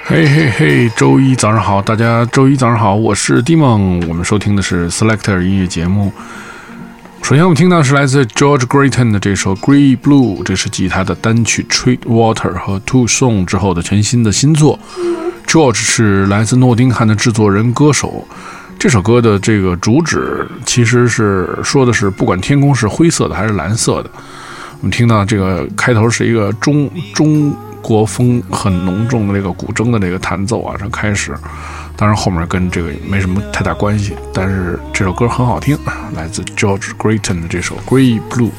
嘿嘿嘿，周一早上好，大家周一早上好，我是 Dimon， 我们收听的是 Selector 音乐节目。首先我们听到是来自 George Clayton 的这首 Grey Blue， 这是继他的单曲 Treat Water 和 Two Song 之后的全新的新作。George 是来自诺丁汉的制作人歌手，这首歌的这个主旨其实是说的是不管天空是灰色的还是蓝色的。我们听到这个开头是一个中国风很浓重的这个古筝的这个弹奏啊，这开始，当然后面跟这个没什么太大关系，但是这首歌很好听，来自 George Clayton 的这首 Grey Blue。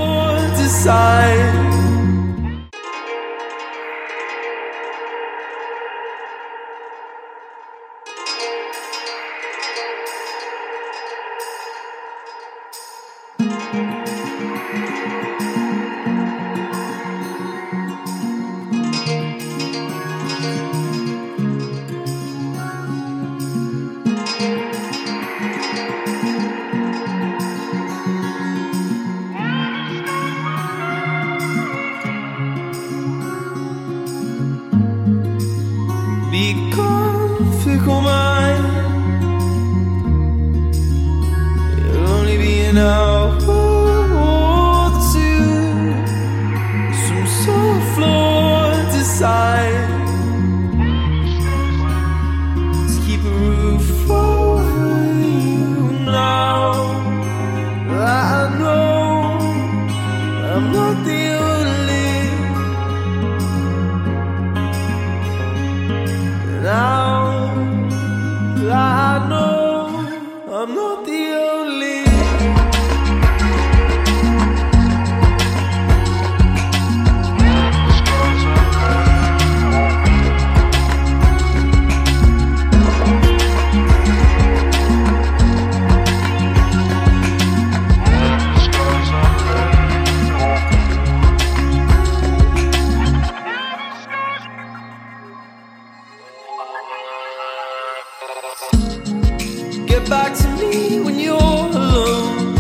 Get back to me when you're alone.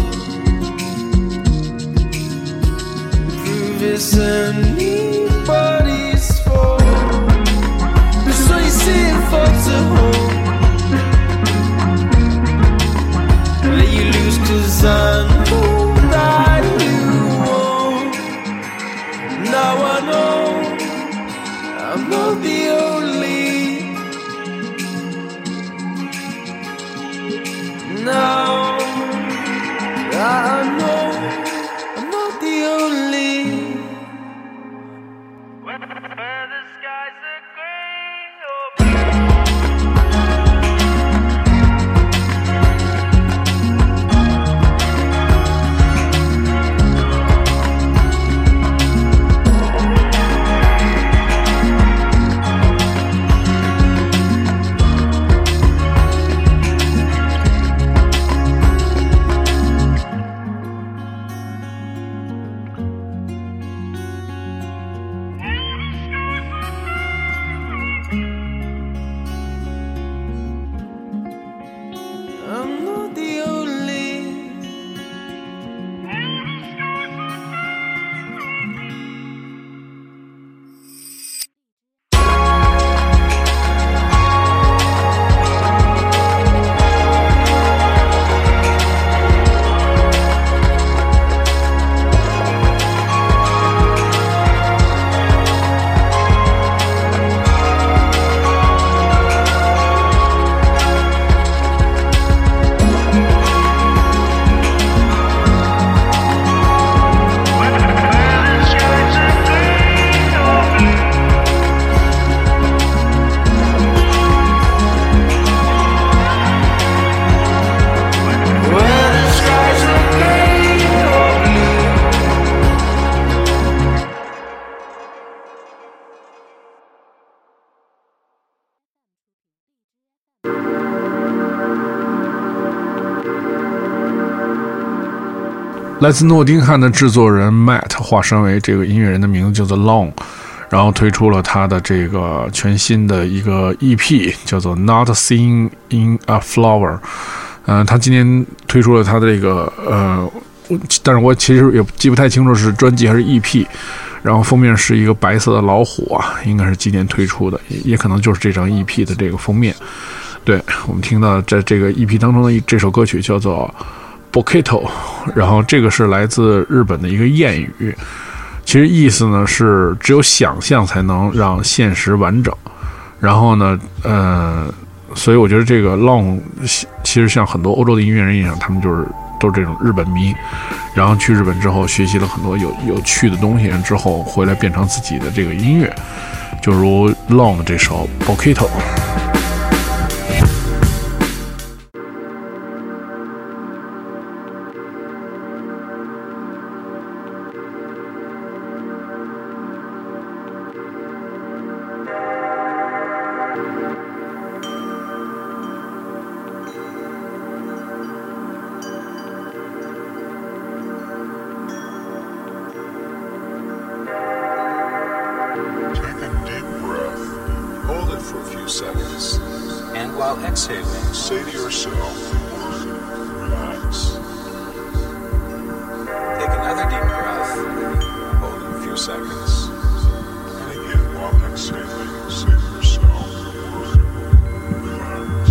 Prove it's anybody's fault. So you see it falls at home. Let you lose 'cause I know that you won't. Now I know I'm not the only.Now I know I'm not the only. Where the skies are gray or 来自诺丁汉的制作人 Matt 化身为这个音乐人的名字叫做 Long， 然后推出了他的这个全新的一个 EP 叫做 Not Seen in a Flower。他今年推出了他的这个但是我其实也记不太清楚是专辑还是 EP。然后封面是一个白色的老虎啊，应该是今年推出的，也可能就是这张 EP 的这个封面。对，我们听到在这个 EP 当中的这首歌曲叫做 Boketo， 然后这个是来自日本的一个谚语，其实意思呢是只有想象才能让现实完整。然后呢，所以我觉得这个 Long 其实像很多欧洲的音乐人一样，他们都是这种日本迷，然后去日本之后学习了很多有趣的东西，之后回来变成自己的这个音乐，就如 Long 的这首 Boketo。 Seconds. And while exhaling, say to yourself, relax. Take another deep breath, hold it a few seconds. And again, while exhaling, say to yourself, relax.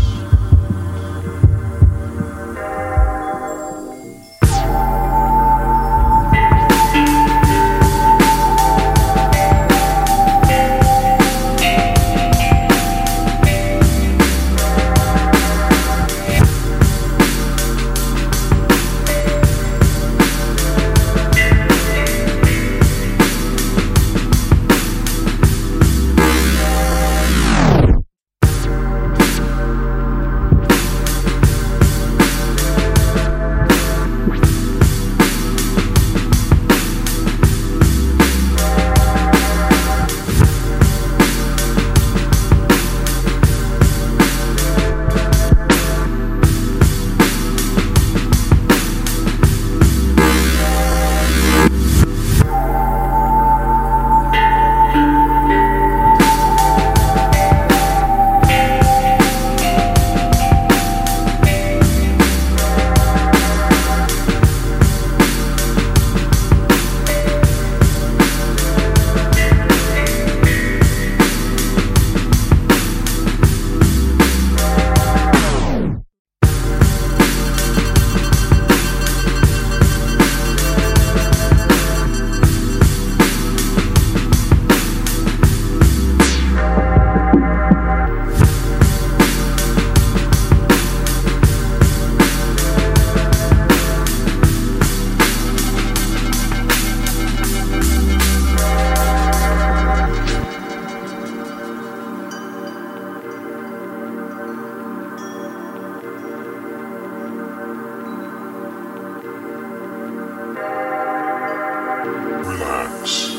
Relax.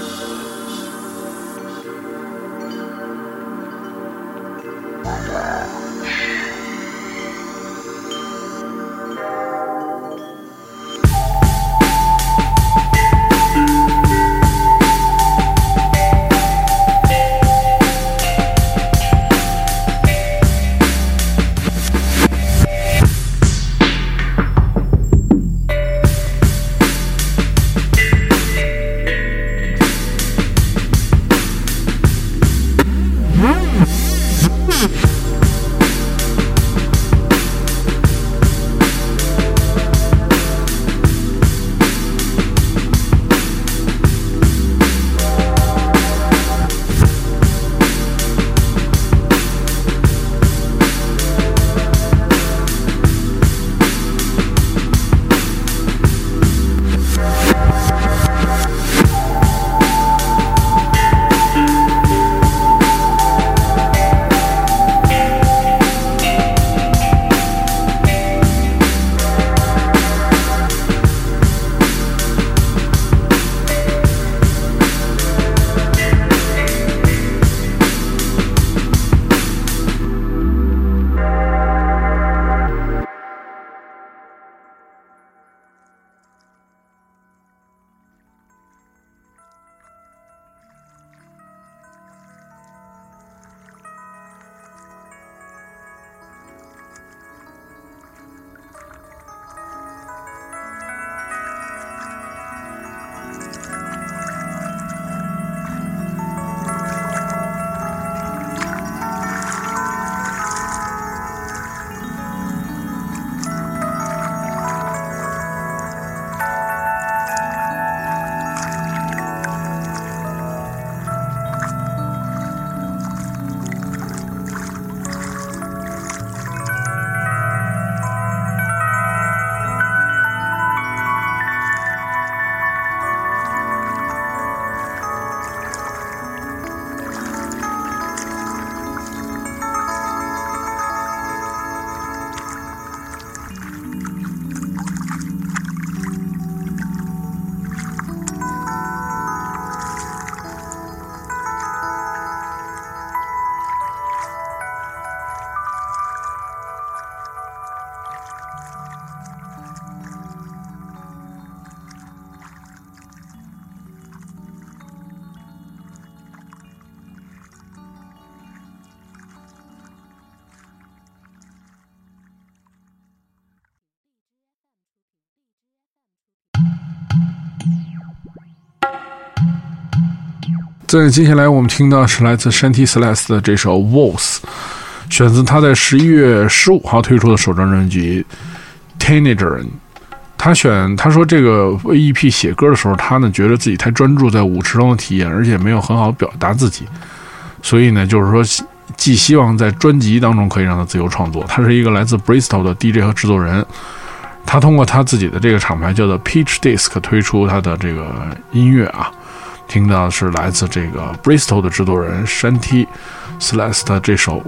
在接下来我们听到是来自 Shanty Celeste 的这首 Waltz， 选自他在11月15号推出的首张专辑 Teenager。 他说这个 EP 写歌的时候，他呢觉得自己太专注在舞池中的体验，而且没有很好表达自己，所以呢就是说寄希望在专辑当中可以让他自由创作。他是一个来自 Bristol 的 DJ 和制作人，他通过他自己的这个厂牌叫做 Peach Disc 推出他的这个音乐啊。听到的是来自这个 Bristol 的制作人 Shanty Celeste 这首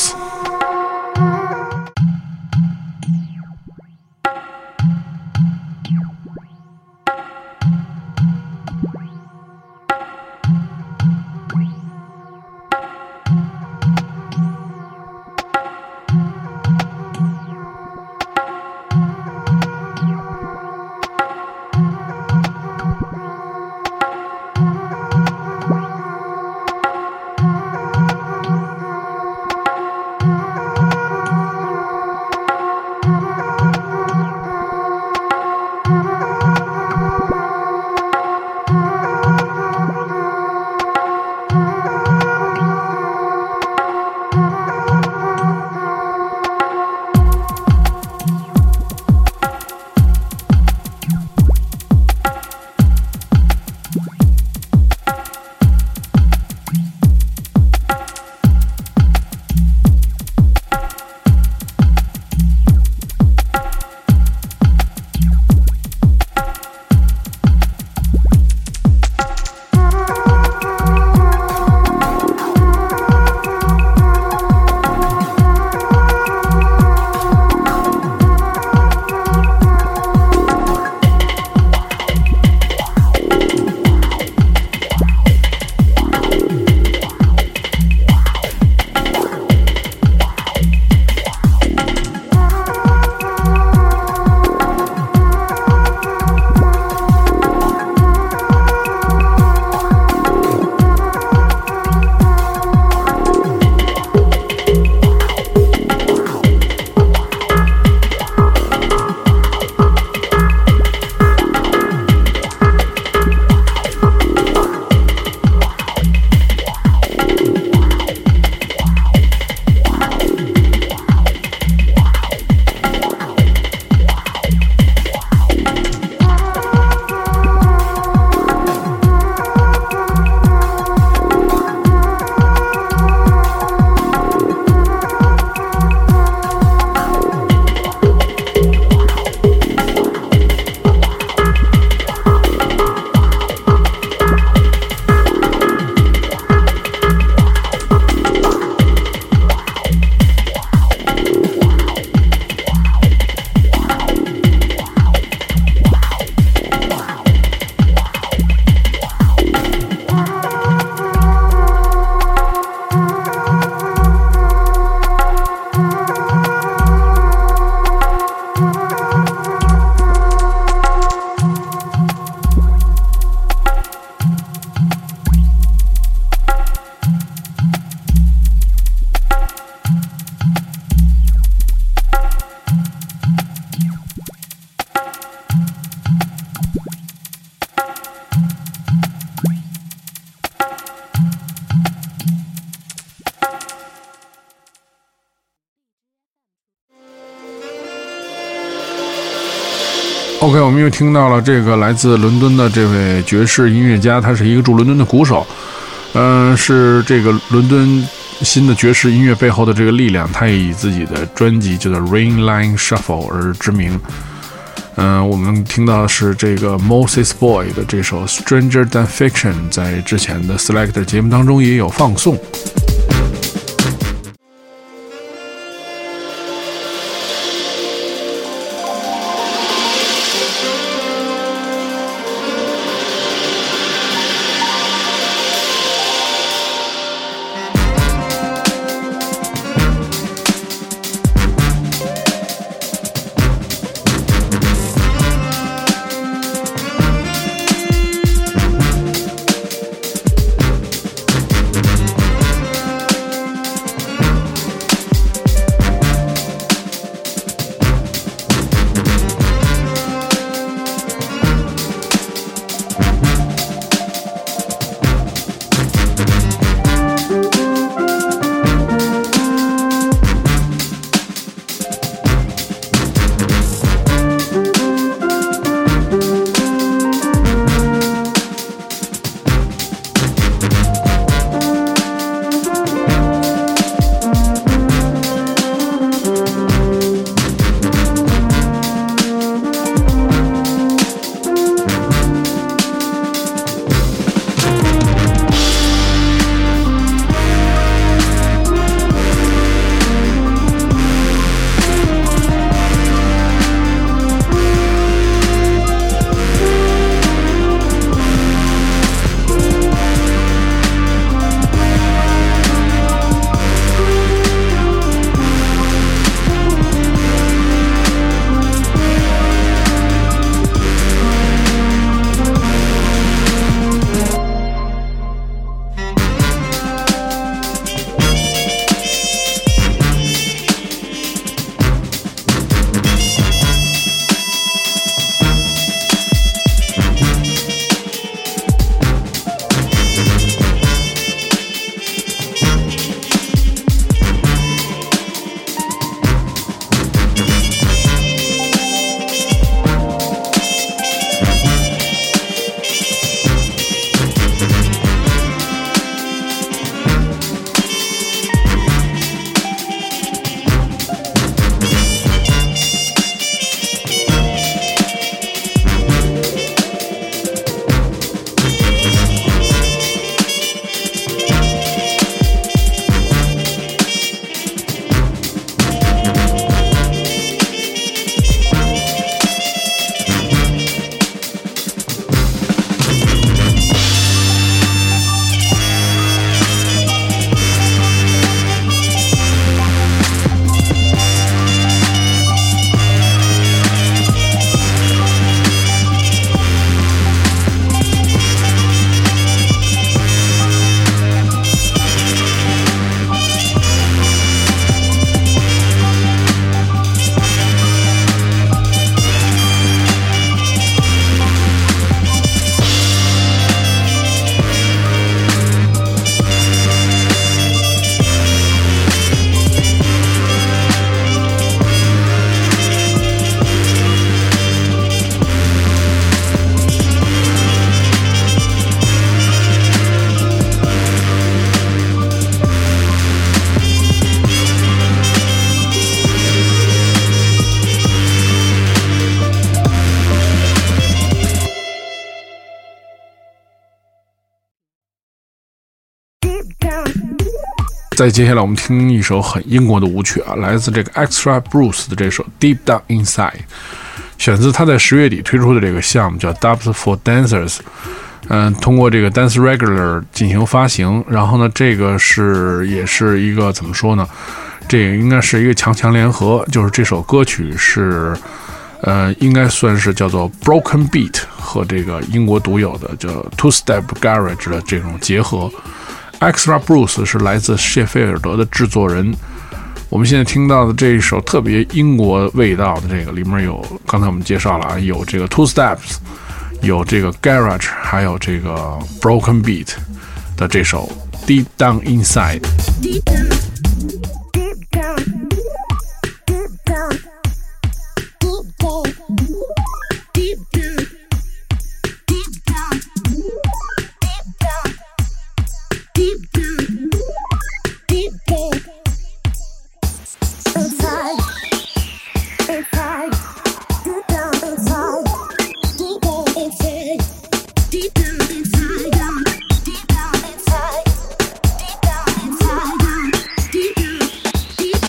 Waltz。OK， 我们又听到了这个来自伦敦的这位爵士音乐家，他是一个驻伦敦的鼓手，是这个伦敦新的爵士音乐背后的这个力量。他也以自己的专辑叫做 Rainline Shuffle 而知名。我们听到的是这个 Moses Boy 的这首 Stranger Than Fiction， 在之前的 Selector 节目当中也有放送。 再接下来我们听一首很英国的舞曲啊，来自这个 Extra Bruce 的这首 Deep Down Inside， 选自他在10月底推出的这个项目叫 Dubs for Dancers， 通过这个 Dance Regular 进行发行。然后呢，这个也是一个怎么说呢？这个应该是一个强联合，就是这首歌曲是应该算是叫做 Broken Beat 和这个英国独有的叫 Two Step Garage 的这种结合。Extra Bruce 是来自谢菲尔德的制作人。我们现在听到的这一首特别英国味道的这个里面有，刚才我们介绍了啊，有这个 Two Steps， 有这个 Garage， 还有这个 Broken Beat 的这首 Deep Down Inside。 Deep down, deep down, deep down, deep down, deep down, deep down, deep down, deep down, inside, inside, deep down inside, deep down inside, deep down inside, deep down inside, deep down inside, deep down, deep.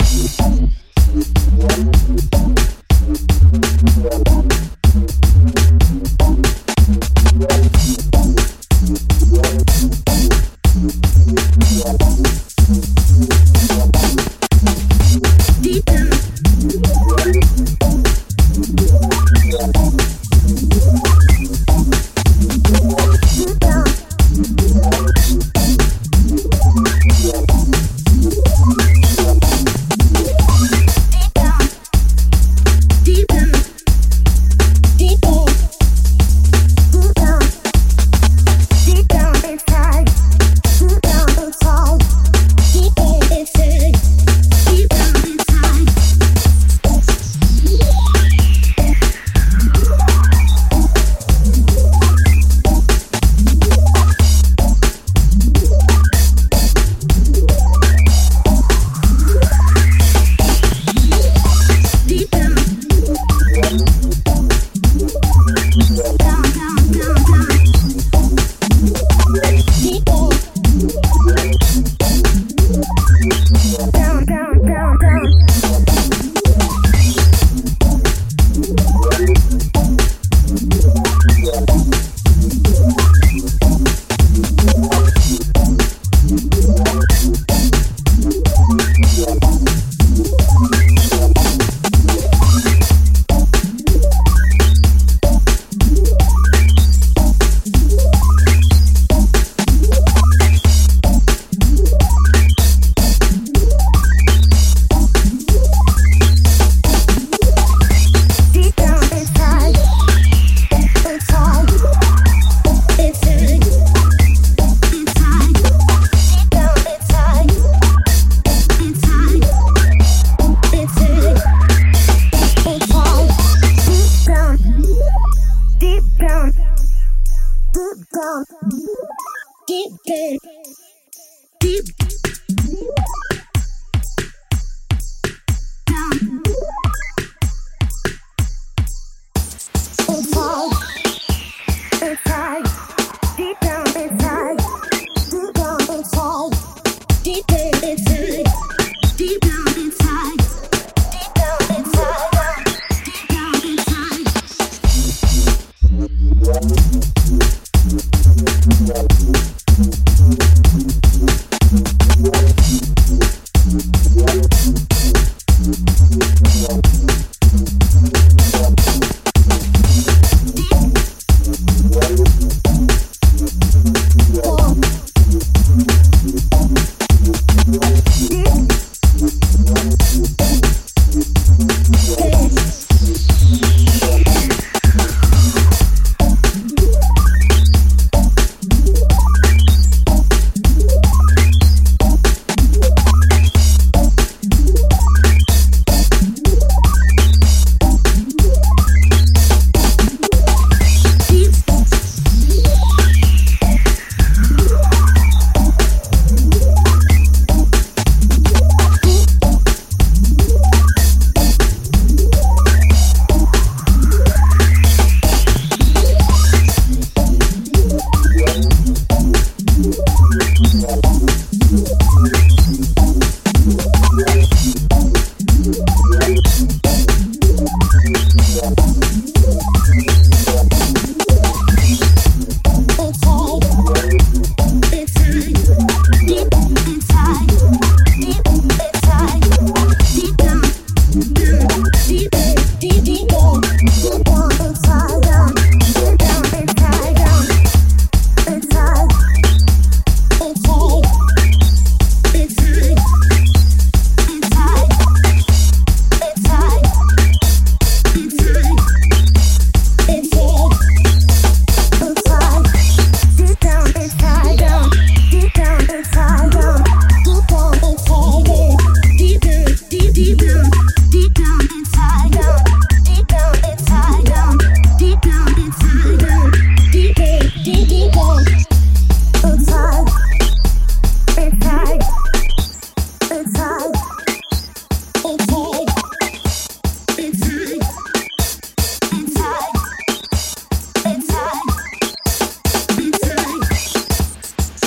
Deep down. Deep down. Deep down. Deep down. Deep down. Deep down inside. Deep down inside. Deep down inside. Deep down inside. Deep down. Down, down, down, down. Deep down. Down, down, down, down. Deep down inside. Inside. Inside. Inside. Deep down inside. Inside. Inside. Inside. Deep down. Deep down. Deep down. Deep down. Inside, inside, deep down inside, deep down inside, deep down inside, deep down inside, deep down inside, deep down inside.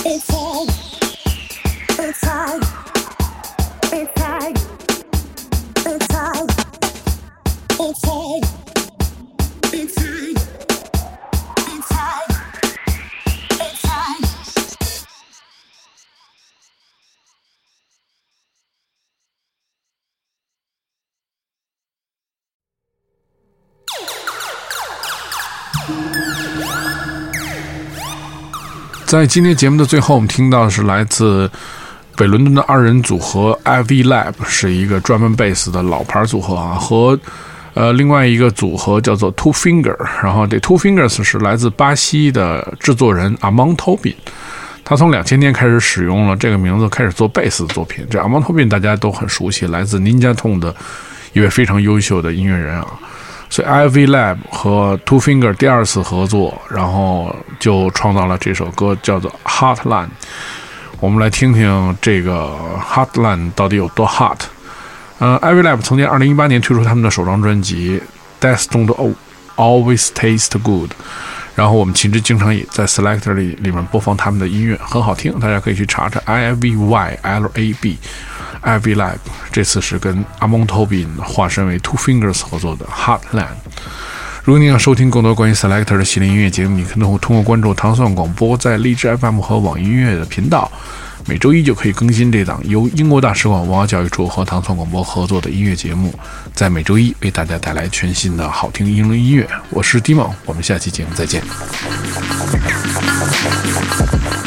在今天节目的最后，我们听到的是来自北伦敦的二人组合 Ivy Lab， 是一个专门贝斯的老牌组合啊，和另外一个组合叫做 Two Finger， 然后这 Two Fingers 是来自巴西的制作人 Amon Tobin， 他从2000年开始使用了这个名字开始做贝斯的作品。这 Amon Tobin 大家都很熟悉，来自 Ninja Tune 的一位非常优秀的音乐人啊。所以 Ivy Lab 和 Two Finger 第二次合作，然后就创造了这首歌叫做 Hotline。 我们来听听这个 Hotline 到底有多 hot。Ivy Lab 曾经2018年推出他们的首张专辑 Death Don't Always Taste Good， 然后我们其实经常也在 Selector 里面播放他们的音乐，很好听，大家可以去查查 IVYLAB Ivy Lab， 这次是跟 Amon Tobin 化身为 Two Fingers 合作的 Hotline。 如果你想收听更多关于 Selector 的系列音乐节目，你可能会通过关注糖蒜广播在荔枝 FM 和网易音乐的频道，每周一就可以更新这档由英国大使馆文化教育处和糖蒜广播合作的音乐节目，在每周一为大家带来全新的好听英伦音乐。我是 Dimon， 我们下期节目再见。